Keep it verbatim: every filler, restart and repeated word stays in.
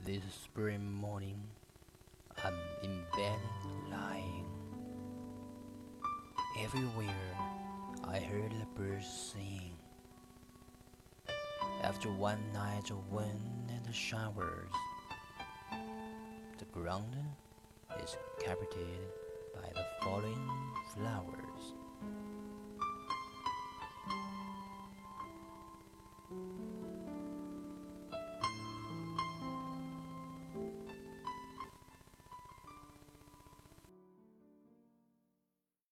This spring morning, I'm in bed lying. Everywhere I heard the birds sing. After one night of wind and showers, the ground is carpeted by the falling flowers.